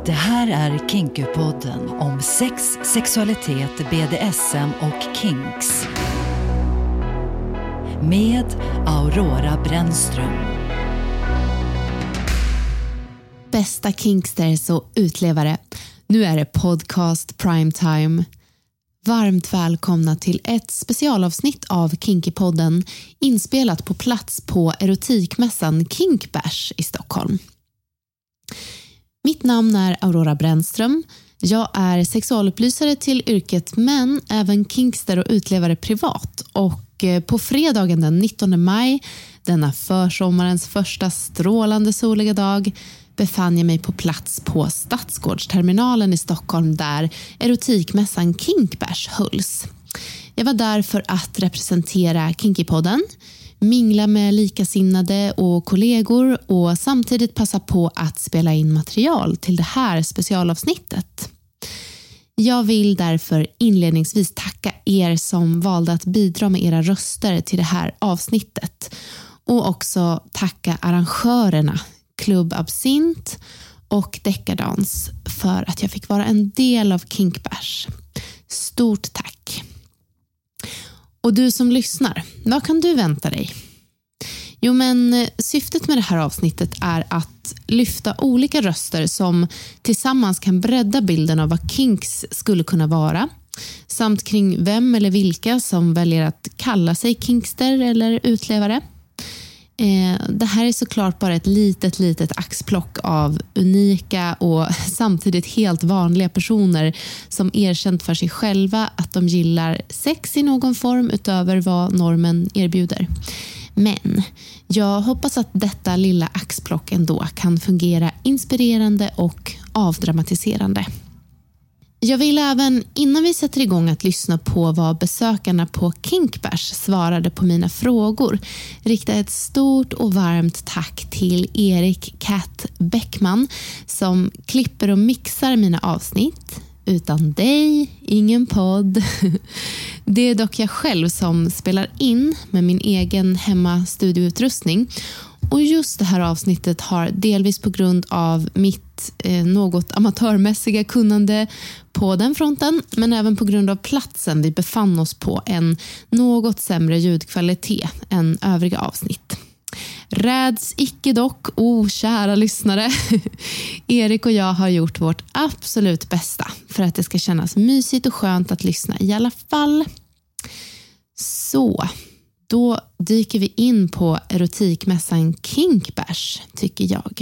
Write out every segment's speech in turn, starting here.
Det här är Kinky-podden om sex, sexualitet, BDSM och kinks. Med Aurora Brännström. Bästa kinksters och utlevare. Nu är det podcast primetime. Varmt välkomna till ett specialavsnitt av Kinky-podden inspelat på plats på erotikmässan Kinkbash i Stockholm. Mitt namn är Aurora Brännström. Jag är sexualupplysare till yrket men även kinkster och utlevare privat. Och på fredagen den 19 maj, denna försommarens första strålande soliga dag, befann jag mig på plats på Stadsgårdsterminalen i Stockholm där erotikmässan Kinkbash hölls. Jag var där för att representera Kinky-podden, mingla med likasinnade och kollegor och samtidigt passa på att spela in material till det här specialavsnittet. Jag vill därför inledningsvis tacka er som valde att bidra med era röster till det här avsnittet och också tacka arrangörerna Club Absint och Decadans för att jag fick vara en del av Kinkbash. Stort tack! Och du som lyssnar, vad kan du vänta dig? Jo men syftet med det här avsnittet är att lyfta olika röster som tillsammans kan bredda bilden av vad kinks skulle kunna vara samt kring vem eller vilka som väljer att kalla sig kinkster eller utlevare. Det här är såklart bara ett litet axplock av unika och samtidigt helt vanliga personer som erkänt för sig själva att de gillar sex i någon form utöver vad normen erbjuder. Men jag hoppas att detta lilla axplock ändå kan fungera inspirerande och avdramatiserande. Jag vill även, innan vi sätter igång att lyssna på vad besökarna på Kinkbash svarade på mina frågor, rikta ett stort och varmt tack till Erik Cat Bäckman som klipper och mixar mina avsnitt. Utan dig, ingen podd. Det är dock jag själv som spelar in med min egen hemmastudioutrustning. Och just det här avsnittet har delvis på grund av mitt något amatörmässiga kunnande på den fronten, men även på grund av platsen vi befann oss på en något sämre ljudkvalitet än övriga avsnitt. Räds icke dock, kära lyssnare. Erik och jag har gjort vårt absolut bästa för att det ska kännas mysigt och skönt att lyssna i alla fall. Så, då dyker vi in på erotikmässan Kinkbash, tycker jag.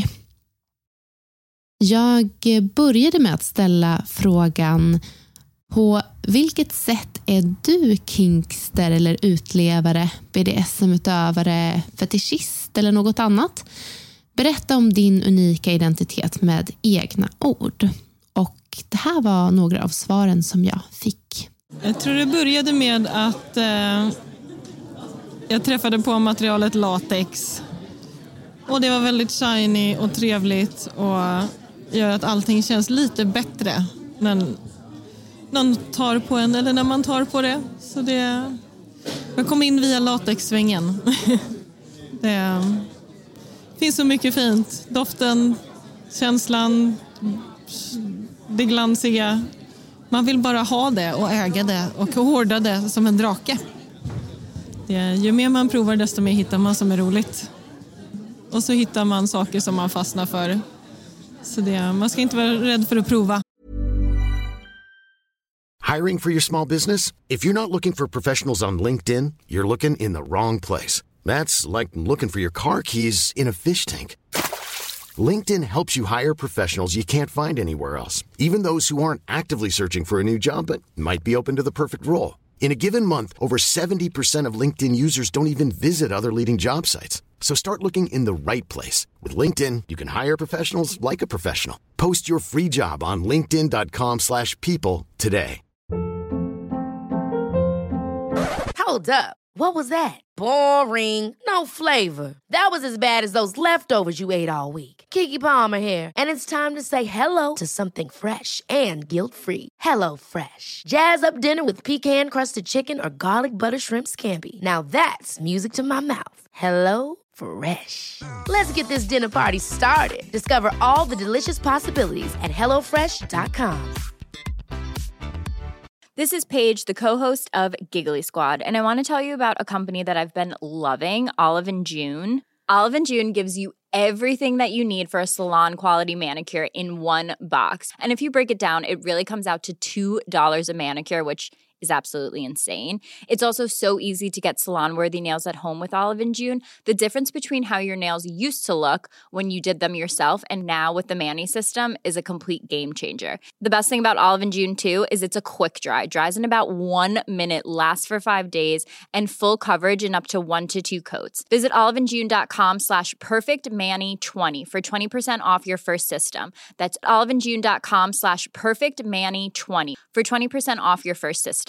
Jag började med att ställa frågan: på vilket sätt är du kinkster eller utlevare, BDSM-utövare, fetischist eller något annat? Berätta om din unika identitet med egna ord. Och det här var några av svaren som jag fick. Jag tror det började med att jag träffade på materialet latex. Och det var väldigt shiny och trevligt och gör att allting känns lite bättre när någon tar på en eller när man tar på det. Så jag kom in via latexsvängen. Det finns så mycket fint. Doften, känslan, det glansiga. Man vill bara ha det och äga det och hårda det som en drake. Ju mer man provar desto mer hittar man som är roligt. Och så hittar man saker som man fastnar för. Så man ska inte vara rädd för att prova. Hiring for your small business? If you're not looking for professionals on LinkedIn, you're looking in the wrong place. That's like looking for your car keys in a fish tank. LinkedIn helps you hire professionals you can't find anywhere else, even those who aren't actively searching for a new job but might be open to the perfect role. In a given month, over 70% of LinkedIn users don't even visit other leading job sites. So start looking in the right place. With LinkedIn, you can hire professionals like a professional. Post your free job on linkedin.com/people today. Hold up. What was that? Boring. No flavor. That was as bad as those leftovers you ate all week. Keke Palmer here, and it's time to say hello to something fresh and guilt-free. Hello Fresh. Jazz up dinner with pecan-crusted chicken or garlic butter shrimp scampi. Now that's music to my mouth. Hello Fresh. Let's get this dinner party started. Discover all the delicious possibilities at hellofresh.com. This is Paige, the co-host of Giggly Squad, and I want to tell you about a company that I've been loving, Olive & June. Olive & June gives you everything that you need for a salon-quality manicure in one box. And if you break it down, it really comes out to $2 a manicure, which is absolutely insane. It's also so easy to get salon-worthy nails at home with Olive & June. The difference between how your nails used to look when you did them yourself and now with the Mani system is a complete game changer. The best thing about Olive & June, too, is it's a quick dry. Dries in about 1 minute, lasts for 5 days, and full coverage in up to 1 to 2 coats. Visit oliveandjune.com/perfectmani20 for 20% off your first system. That's oliveandjune.com/perfectmani20 for 20% off your first system.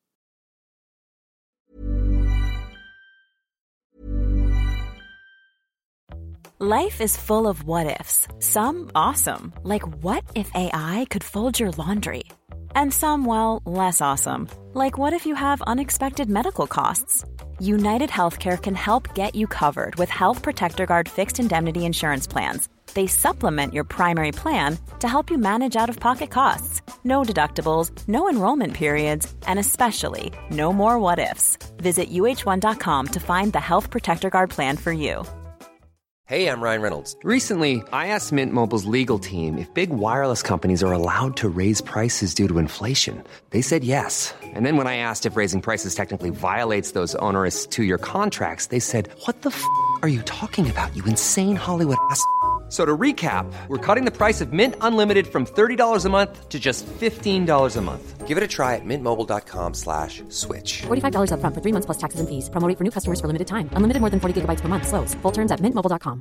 Life is full of what-ifs. Some awesome, like what if AI could fold your laundry? And some, well, less awesome, like what if you have unexpected medical costs? United Healthcare can help get you covered with Health Protector Guard fixed indemnity insurance plans. They supplement your primary plan to help you manage out-of-pocket costs. No deductibles, no enrollment periods, and especially no more what-ifs. Visit UH1.com to find the Health Protector Guard plan for you. Hey, I'm Ryan Reynolds. Recently, I asked Mint Mobile's legal team if big wireless companies are allowed to raise prices due to inflation. They said yes. And then when I asked if raising prices technically violates those onerous 2-year contracts, they said, "What the f*** are you talking about, you insane Hollywood ass?" So to recap, we're cutting the price of Mint Unlimited from $30 a month to just $15 a month. Give it a try at mintmobile.com/switch. $45 up front for 3 months plus taxes and fees. Promo rate for new customers for limited time. Unlimited more than 40 gigabytes per month. Slows full terms at mintmobile.com.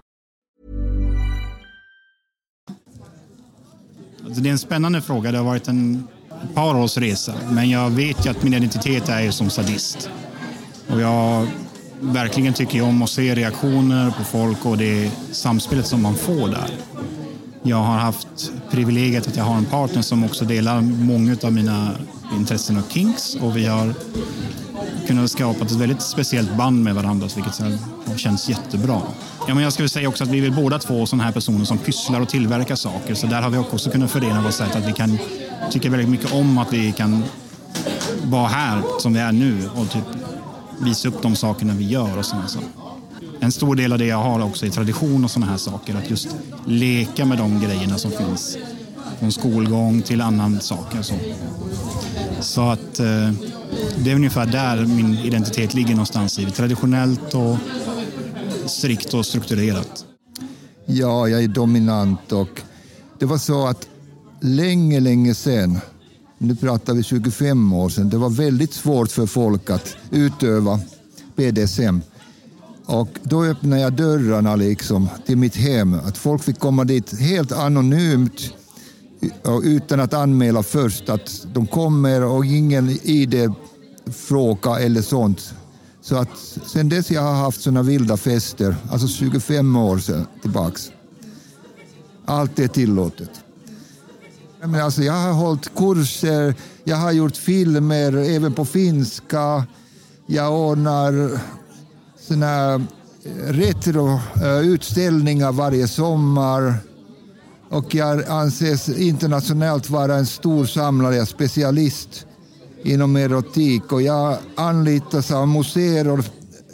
Alltså det är en spännande fråga. Det har varit ett par års resa. Men jag vet ju att min identitet är som sadist. Och jag verkligen tycker om att se reaktioner på folk och det samspelet som man får där. Jag har haft privilegiet att jag har en partner som också delar många av mina intressen och kinks. Och vi har kunnat skapa ett väldigt speciellt band med varandra, vilket har känts jättebra. Ja, men jag skulle säga också att vi vill båda två sådana här personer som pysslar och tillverkar saker. Så där har vi också kunnat förena vårt sätt att vi kan tycka väldigt mycket om att vi kan vara här som vi är nu och typ visa upp de sakerna vi gör och sådana saker. En stor del av det jag har också i tradition och sådana här saker, att just leka med de grejerna som finns från skolgång till annan saker. Så att det är ungefär där min identitet ligger någonstans i. Traditionellt och strikt och strukturerat. Ja, jag är dominant och det var så att länge sedan, nu pratar vi 25 år sedan, det var väldigt svårt för folk att utöva BDSM. Och då öppnade jag dörrarna liksom till mitt hem. Att folk fick komma dit helt anonymt och utan att anmäla först att de kommer och ingen ID-fråga eller sånt. Så att sen dess jag har haft såna vilda fester, alltså 25 år sedan tillbaks. Allt är tillåtet. Men alltså jag har hållit kurser, jag har gjort filmer även på finska. Jag ordnar såna retroutställningar varje sommar. Och jag anses internationellt vara en stor samlare, specialist inom erotik. Och jag anlitas av museer och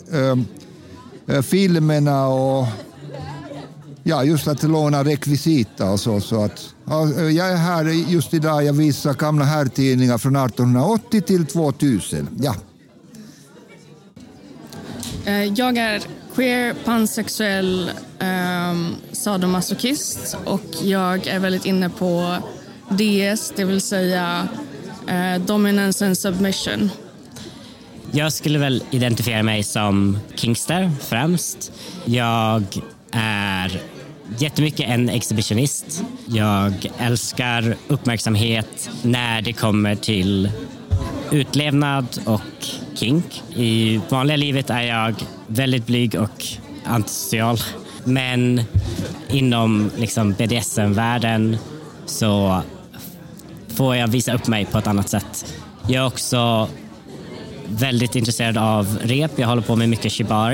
filmerna och ja, just att låna rekvisita och så att jag är här just idag, jag visar gamla herrtidningar från 1880 till 2000. Ja. Jag är queer, pansexuell, sadomasochist och jag är väldigt inne på DS, det vill säga dominance and submission. Jag skulle väl identifiera mig som kinkster främst. Jag är jättemycket en exhibitionist. Jag älskar uppmärksamhet när det kommer till utlevnad och kink. I vanliga livet är jag väldigt blyg och antisocial. Men inom liksom BDSM-världen så får jag visa upp mig på ett annat sätt. Jag är också väldigt intresserad av rep. Jag håller på med mycket shibari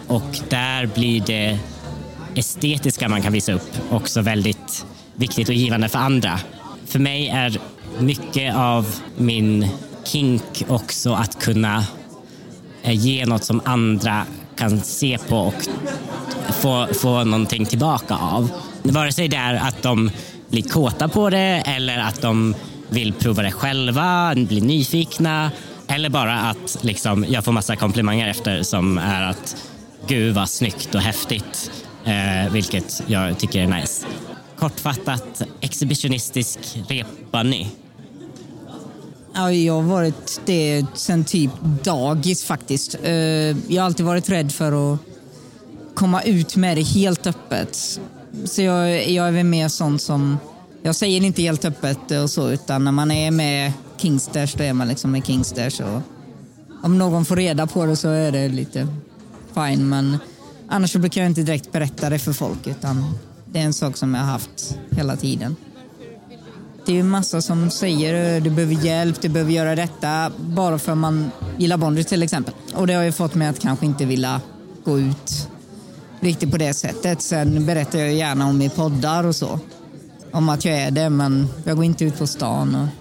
Och där blir det estetiska man kan visa upp också väldigt viktigt och givande för andra. För mig är mycket av min kink också att kunna ge något som andra kan se på och få någonting tillbaka av. Vare sig det är att de blir kåta på det eller att de vill prova det själva, blir nyfikna eller bara att liksom, jag får massa komplimanger efter som är att gud vad snyggt och häftigt, vilket jag tycker är nice. Kortfattat, exhibitionistisk repbunny. Ja, jag har varit det sen typ dagis faktiskt. Jag har alltid varit rädd för att komma ut med det helt öppet. Så jag är väl med sånt som, jag säger inte helt öppet och så, utan när man är med Kingsters då är man liksom med Kingsters. Och om någon får reda på det så är det lite fine, men annars så brukar jag inte direkt berätta det för folk, utan det är en sak som jag har haft hela tiden. Det är ju massa som säger du behöver hjälp, du behöver göra detta bara för man gillar bondage till exempel. Och det har ju fått mig att kanske inte vilja gå ut riktigt på det sättet. Sen berättar jag gärna om i poddar och så. Om att jag är det, men jag går inte ut på stan. Och...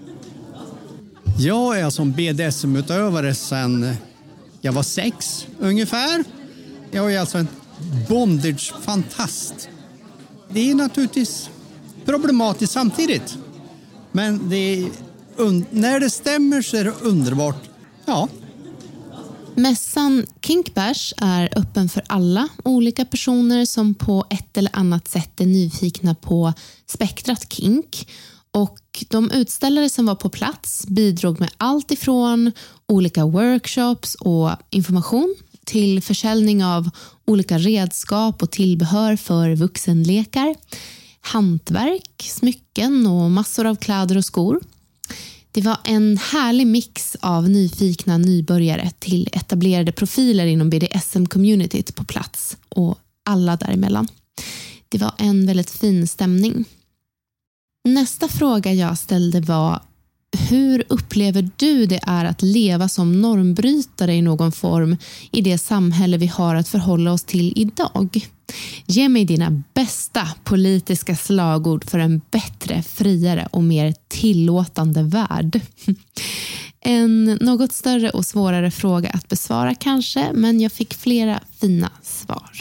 Jag är som BDSM-utövare sedan jag var 6 ungefär. Jag är alltså en bondage-fantast. Det är naturligtvis problematiskt samtidigt. Men när det stämmer så är det underbart. Ja. Mässan Kinkbash är öppen för alla olika personer som på ett eller annat sätt är nyfikna på spektrat kink. Och de utställare som var på plats bidrog med allt ifrån olika workshops och information till försäljning av olika redskap och tillbehör för vuxenlekar, hantverk, smycken och massor av kläder och skor. Det var en härlig mix av nyfikna nybörjare till etablerade profiler inom BDSM-communityt på plats och alla däremellan. Det var en väldigt fin stämning. Nästa fråga jag ställde var: hur upplever du det är att leva som normbrytare i någon form i det samhälle vi har att förhålla oss till idag? Ge mig dina bästa politiska slagord för en bättre, friare och mer tillåtande värld. En något större och svårare fråga att besvara kanske, men jag fick flera fina svar.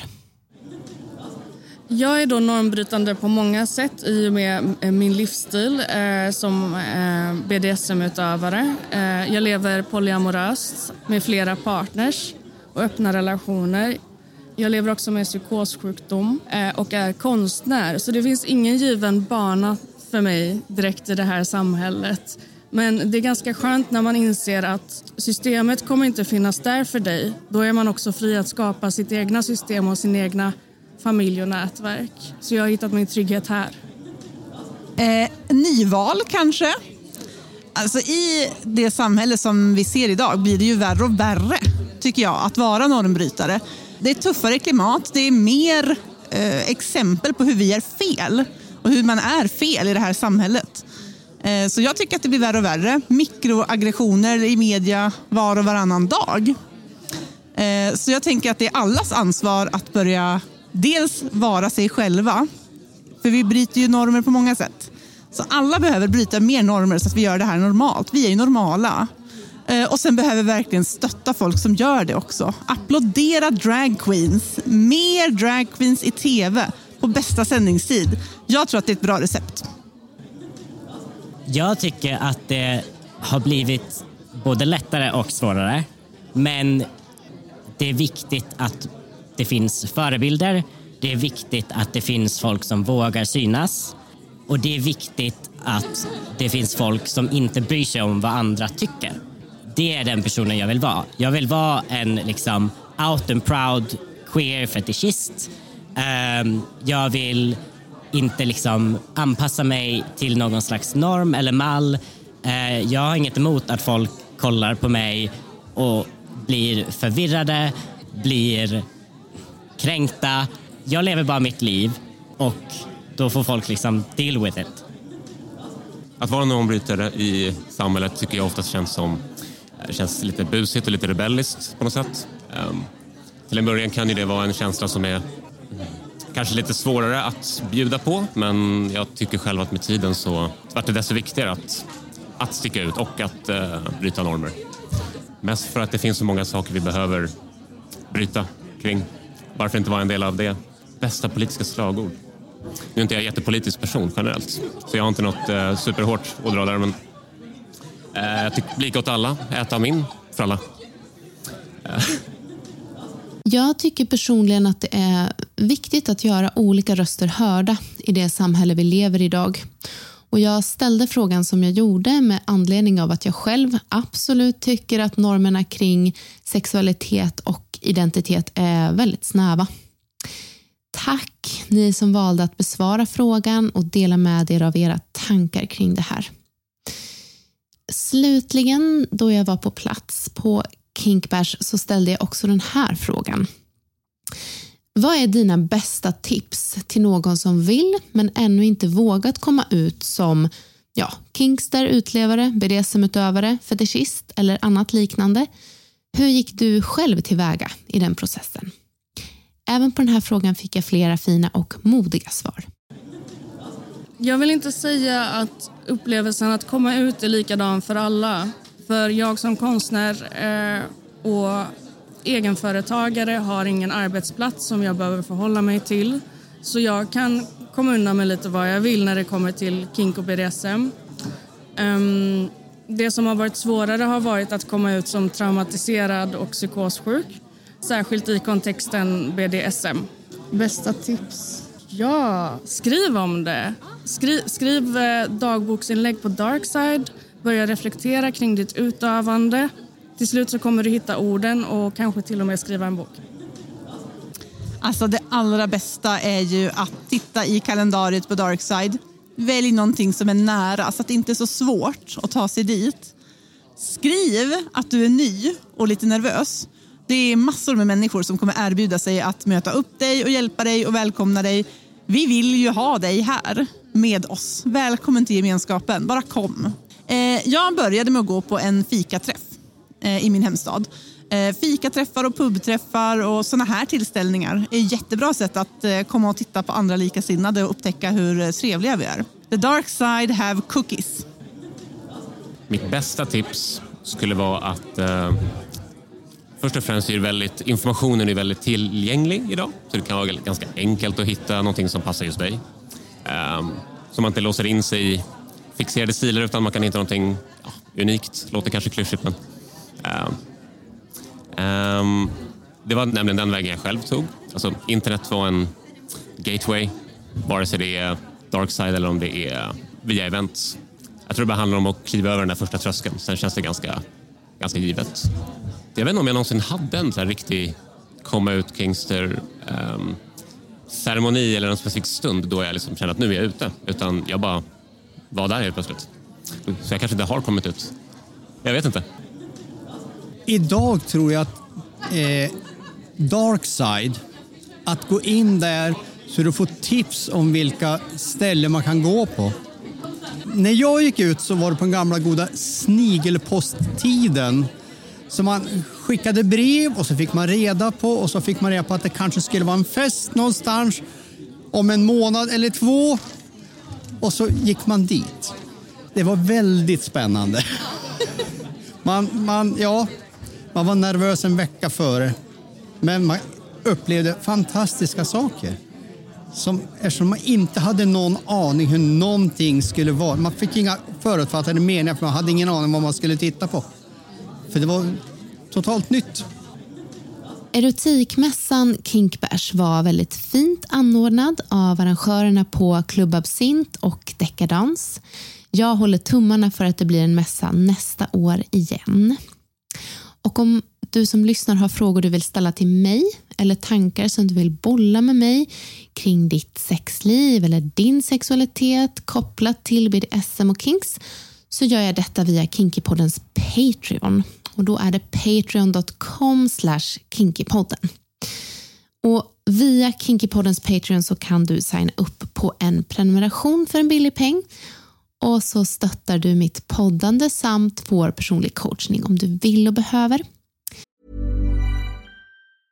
Jag är då normbrytande på många sätt i och med min livsstil som BDSM-utövare. Jag lever polyamoröst med flera partners och öppna relationer. Jag lever också med psykossjukdom och är konstnär. Så det finns ingen given bana för mig direkt i det här samhället. Men det är ganska skönt när man inser att systemet kommer inte finnas där för dig. Då är man också fri att skapa sitt egna system och sin egna familj och nätverk. Så jag har hittat min trygghet här. Nyval kanske. Alltså i det samhälle som vi ser idag blir det ju värre och värre, tycker jag, att vara normbrytare. Det är tuffare klimat, det är mer exempel på hur vi är fel och hur man är fel i det här samhället. Så jag tycker att det blir värre och värre. Mikroaggressioner i media var och varannan dag. Så jag tänker att det är allas ansvar att börja dels vara sig själva. För vi bryter ju normer på många sätt. Så alla behöver bryta mer normer så att vi gör det här normalt. Vi är ju normala. Och sen behöver vi verkligen stötta folk som gör det också. Applådera drag queens. Mer drag queens i tv på bästa sändningstid. Jag tror att det är ett bra recept. Jag tycker att det har blivit både lättare och svårare. Men det är viktigt att det finns förebilder. Det är viktigt att det finns folk som vågar synas. Och det är viktigt att det finns folk som inte bryr sig om vad andra tycker. Det är den personen jag vill vara. Jag vill vara en liksom out and proud queer fetischist. Jag vill inte liksom anpassa mig till någon slags norm eller mall. Jag har inget emot att folk kollar på mig och blir förvirrade, blir kränkta. Jag lever bara mitt liv och då får folk liksom deal with it. Att vara normbrytare i samhället tycker jag ofta känns lite busigt och lite rebelliskt på något sätt. till en början kan ju det vara en känsla som är kanske lite svårare att bjuda på, men jag tycker själv att med tiden så vart det desto viktigare att sticka ut och att bryta normer. Mest för att det finns så många saker vi behöver bryta kring. Varför inte vara en del av det bästa politiska slagord? Nu är inte jag en jättepolitisk person generellt, så jag har inte något superhårt att dra där, men jag tycker lika åt alla, äta min för alla. Jag tycker personligen att det är viktigt att göra olika röster hörda i det samhälle vi lever i idag. Och jag ställde frågan som jag gjorde med anledning av att jag själv absolut tycker att normerna kring sexualitet och identitet är väldigt snäva. Tack ni som valde att besvara frågan och dela med er av era tankar kring det här. Slutligen, då jag var på plats på Kinkbash, så ställde jag också den här frågan. Vad är dina bästa tips till någon som vill men ännu inte vågat komma ut som kinkster, utlevare, BDSM-utövare, fetischist eller annat liknande? Hur gick du själv tillväga i den processen? Även på den här frågan fick jag flera fina och modiga svar. Jag vill inte säga att upplevelsen att komma ut är likadan för alla. För jag som konstnär och egenföretagare har ingen arbetsplats som jag behöver förhålla mig till. Så jag kan komma undan med lite vad jag vill när det kommer till kink och BDSM. Det som har varit svårare har varit att komma ut som traumatiserad och psykossjuk. Särskilt i kontexten BDSM. Bästa tips? Ja, skriv om det. Skriv dagboksinlägg på Darkside. Börja reflektera kring ditt utövande. Till slut så kommer du hitta orden och kanske till och med skriva en bok. Alltså det allra bästa är ju att titta i kalendariet på Darkside. Välj någonting som är nära så att det inte är så svårt att ta sig dit. Skriv att du är ny och lite nervös. Det är massor med människor som kommer erbjuda sig att möta upp dig och hjälpa dig och välkomna dig. Vi vill ju ha dig här med oss. Välkommen till gemenskapen. Bara kom. Jag började med att gå på en fikaträff i min hemstad. Fikaträffar och pubträffar och såna här tillställningar är ett jättebra sätt att komma och titta på andra likasinnade och upptäcka hur trevliga vi är. The dark side have cookies. Mitt bästa tips skulle vara att först och främst är informationen är väldigt tillgänglig idag. Så det kan vara ganska enkelt att hitta någonting som passar just dig. Så man inte låser in sig i fixerade stilar utan man kan hitta någonting unikt. Låter kanske klyschigt, men det var nämligen den vägen jag själv tog. Alltså internet var en gateway, vare sig det är Darkside eller om det är via events. Jag tror det bara handlar om att kliva över den där första tröskeln. Sen känns det ganska givet. Jag vet inte om jag någonsin hade en så här riktig komma ut Kingster ceremoni eller en specifik stund då jag liksom kände att nu är jag ute. Utan jag bara var där helt plötsligt. Så jag kanske inte har kommit ut. Jag vet inte. Idag tror jag att Darkside, att gå in där så du får tips om vilka ställen man kan gå på. När jag gick ut så var det på den gamla goda snigelposttiden. Så man skickade brev och så fick man reda på att det kanske skulle vara en fest någonstans om en månad eller 2. Och så gick man dit. Det var väldigt spännande. Man var nervös en vecka före. Men man upplevde fantastiska saker. Eftersom man inte hade någon aning hur någonting skulle vara. Man fick inga förutfattade meningar för man hade ingen aning vad man skulle titta på. För det var totalt nytt. Erotikmässan Kinkbash var väldigt fint anordnad av arrangörerna på Club Absint och Decadence. Jag håller tummarna för att det blir en mässa nästa år igen. Och om du som lyssnar har frågor du vill ställa till mig eller tankar som du vill bolla med mig kring ditt sexliv eller din sexualitet kopplat till BDSM och kinks, så gör jag detta via Kinkypoddens Patreon. Och då är det patreon.com/kinkypodden. Och via Kinkypoddens Patreon så kan du signa upp på en prenumeration för en billig peng. Och så stöttar du mitt poddande samt vår personlig coachning om du vill och behöver.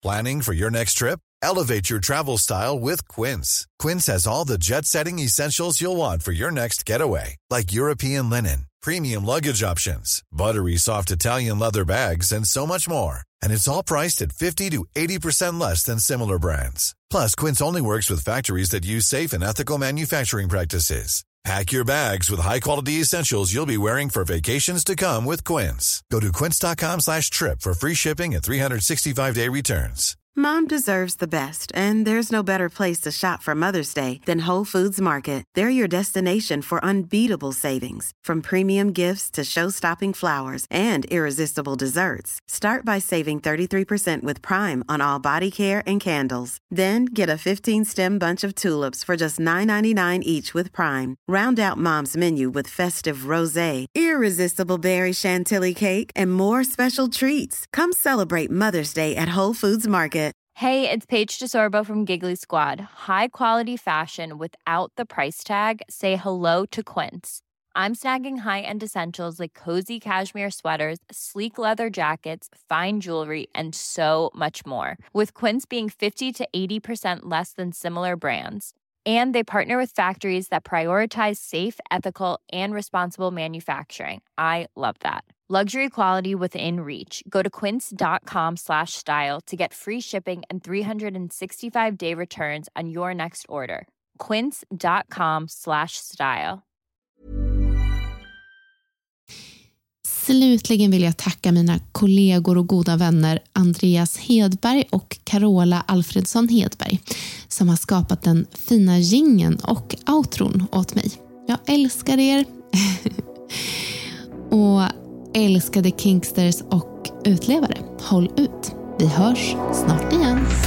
Planning for your next trip? Elevate your travel style with Quince. Quince has all the jet-setting essentials you'll want for your next getaway, like European linen, premium luggage options, buttery soft Italian leather bags, and so much more. And it's all priced at 50 to 80% less than similar brands. Plus, Quince only works with factories that use safe and ethical manufacturing practices. Pack your bags with high-quality essentials you'll be wearing for vacations to come with Quince. Go to quince.com/trip for free shipping and 365-day returns. Mom deserves the best, and there's no better place to shop for Mother's Day than Whole Foods Market. They're your destination for unbeatable savings, from premium gifts to show-stopping flowers and irresistible desserts. Start by saving 33% with Prime on all body care and candles. Then get a 15-stem bunch of tulips for just $9.99 each with Prime. Round out Mom's menu with festive rosé, irresistible berry chantilly cake, and more special treats. Come celebrate Mother's Day at Whole Foods Market. Hey, it's Paige DeSorbo from Giggly Squad. High quality fashion without the price tag. Say hello to Quince. I'm snagging high-end essentials like cozy cashmere sweaters, sleek leather jackets, fine jewelry, and so much more. With Quince being 50 to 80% less than similar brands. And they partner with factories that prioritize safe, ethical, and responsible manufacturing. I love that. Luxury quality within reach. Go to quince.com/style to get free shipping and 365-day returns on your next order. Quince.com/style. Slutligen vill jag tacka mina kollegor och goda vänner Andreas Hedberg och Carola Alfredsson Hedberg som har skapat den fina jingeln och outron åt mig. Jag älskar er. Och älskade Kinksters och utlevare. Håll ut. Vi hörs snart igen.